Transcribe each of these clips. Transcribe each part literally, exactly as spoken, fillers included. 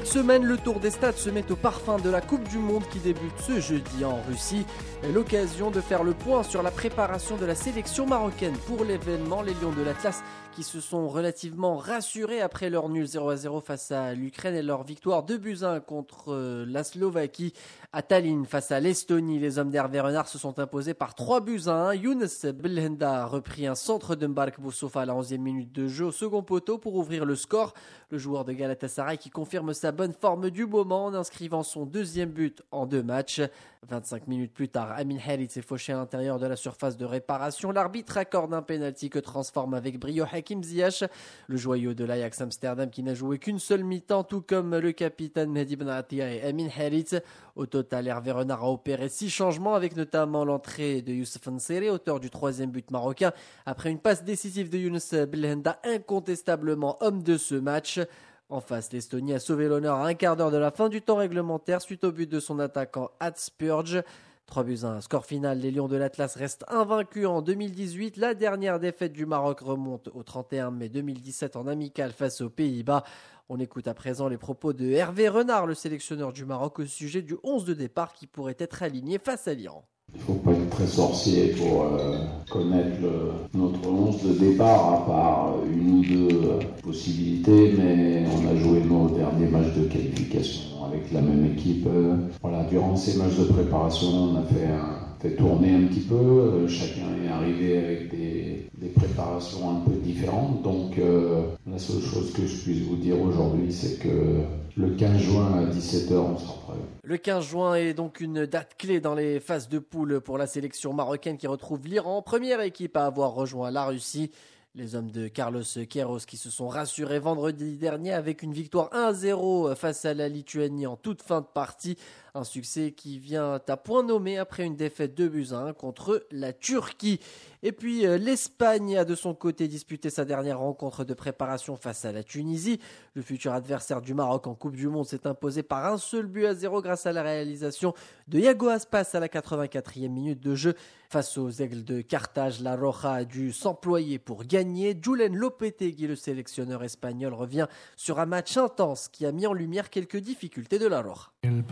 semaine, le tour des stades se met au parfum de la Coupe du Monde qui débute ce jeudi en Russie. L'occasion de faire le point sur la préparation de la sélection marocaine pour l'événement. Les Lions de l'Atlas qui se sont relativement rassurés après leur nul zéro à zéro face à l'Ukraine et leur victoire deux buts à un contre la Slovaquie à Tallinn face à l'Estonie. Les hommes d'Hervé Renard se sont imposés par trois buts à un. Younes Belhanda a repris un centre de Mbark Boussoufa à la onzième minute de jeu au second poteau pour ouvrir le score. Le joueur de Galatasaray qui confirme sa bonne forme du moment en inscrivant son deuxième but en deux matchs. vingt-cinq minutes plus tard, Amin Harit s'est fauché à l'intérieur de la surface de réparation. L'arbitre accorde un pénalty que transforme avec brio Hakim Ziyech, le joyau de l'Ajax Amsterdam qui n'a joué qu'une seule mi-temps, tout comme le capitaine Mehdi Benatia et Amin Harit. Au total, Hervé Renard a opéré six changements avec notamment l'entrée de Youssef Nseri, auteur du troisième but marocain, après une passe décisive de Younes Belhanda, incontestablement homme de ce match. En face, l'Estonie a sauvé l'honneur à un quart d'heure de la fin du temps réglementaire suite au but de son attaquant Ad Spurge. trois buts à un. Score final, les Lions de l'Atlas restent invaincus en deux mille dix-huit. La dernière défaite du Maroc remonte au trente et un mai deux mille dix-sept en amical face aux Pays-Bas. On écoute à présent les propos de Hervé Renard, le sélectionneur du Maroc, au sujet du onze de départ qui pourrait être aligné face à l'Iran. Il ne faut pas être très sorcier pour euh, connaître le, notre onze de départ, à part une ou deux euh, possibilités, mais on a joué nos derniers matchs de qualification avec la même équipe. Euh, voilà, durant ces matchs de préparation, on a fait, un, fait tourner un petit peu. Euh, chacun est arrivé avec des, des préparations un peu différentes. Donc euh, la seule chose que je puisse vous dire aujourd'hui, c'est que le quinze juin à dix-sept heures, on sera prêt. Le quinze juin est donc une date clé dans les phases de poule pour la sélection marocaine qui retrouve l'Iran, première équipe à avoir rejoint la Russie. Les hommes de Carlos Queiroz qui se sont rassurés vendredi dernier avec une victoire un à zéro face à la Lituanie en toute fin de partie. Un succès qui vient à point nommé après une défaite deux buts à un contre la Turquie. Et puis l'Espagne a de son côté disputé sa dernière rencontre de préparation face à la Tunisie. Le futur adversaire du Maroc en Coupe du Monde s'est imposé par un seul but à zéro grâce à la réalisation de Iago Aspas à la quatre-vingt-quatrième minute de jeu. Face aux Aigles de Carthage, la Roja a dû s'employer pour gagner. Julen Lopetegui, le sélectionneur espagnol, revient sur un match intense qui a mis en lumière quelques difficultés de la Roja.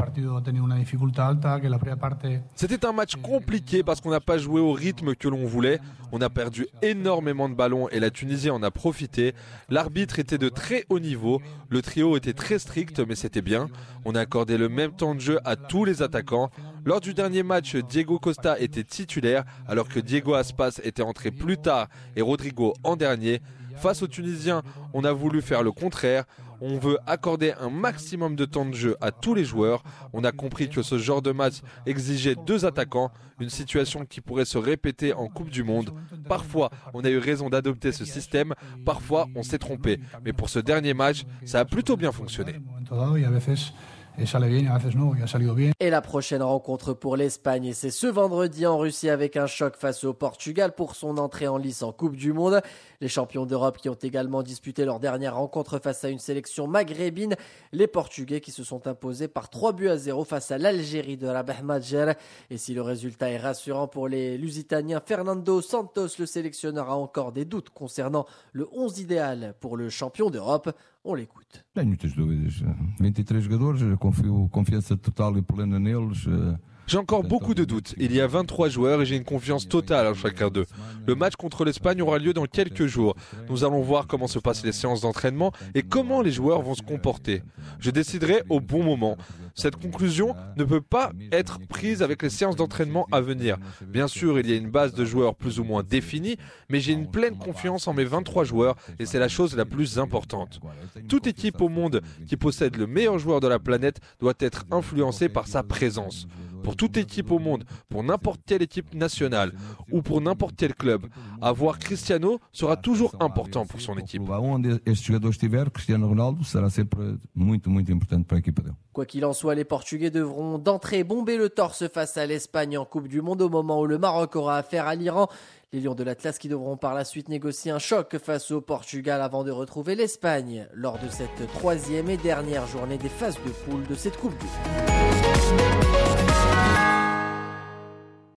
C'était un match compliqué parce qu'on n'a pas joué au rythme que l'on voulait. On a perdu énormément de ballons et la Tunisie en a profité. L'arbitre était de très haut niveau. Le trio était très strict, mais c'était bien. On a accordé le même temps de jeu à tous les attaquants. Lors du dernier match, Diego Costa était titulaire alors que Diego Aspas était entré plus tard et Rodrigo en dernier. Face aux Tunisiens, on a voulu faire le contraire. On veut accorder un maximum de temps de jeu à tous les joueurs. On a compris que ce genre de match exigeait deux attaquants, une situation qui pourrait se répéter en Coupe du Monde. Parfois, on a eu raison d'adopter ce système, parfois on s'est trompé. Mais pour ce dernier match, ça a plutôt bien fonctionné. Et la prochaine rencontre pour l'Espagne, c'est ce vendredi en Russie avec un choc face au Portugal pour son entrée en lice en Coupe du Monde. Les champions d'Europe qui ont également disputé leur dernière rencontre face à une sélection maghrébine. Les Portugais qui se sont imposés par trois buts à zéro face à l'Algérie de Rabah Madjer. Et si le résultat est rassurant pour les Lusitaniens, Fernando Santos, le sélectionneur, a encore des doutes concernant le onze idéal pour le champion d'Europe. On l'écoute. Tenho muitas dúvidas. vingt-trois jogadores, confio confiança total e plena neles. J'ai encore beaucoup de doutes. Il y a vingt-trois joueurs et j'ai une confiance totale en chacun d'eux. Le match contre l'Espagne aura lieu dans quelques jours. Nous allons voir comment se passent les séances d'entraînement et comment les joueurs vont se comporter. Je déciderai au bon moment. Cette conclusion ne peut pas être prise avec les séances d'entraînement à venir. Bien sûr, il y a une base de joueurs plus ou moins définie, mais j'ai une pleine confiance en mes vingt-trois joueurs et c'est la chose la plus importante. Toute équipe au monde qui possède le meilleur joueur de la planète doit être influencée par sa présence. Pour toute équipe au monde, pour n'importe quelle équipe nationale ou pour n'importe quel club, avoir Cristiano sera toujours important pour son équipe. Quoi qu'il en soit, les Portugais devront d'entrée bomber le torse face à l'Espagne en Coupe du Monde au moment où le Maroc aura affaire à l'Iran. Les Lions de l'Atlas qui devront par la suite négocier un choc face au Portugal avant de retrouver l'Espagne lors de cette troisième et dernière journée des phases de poule de cette Coupe du Monde.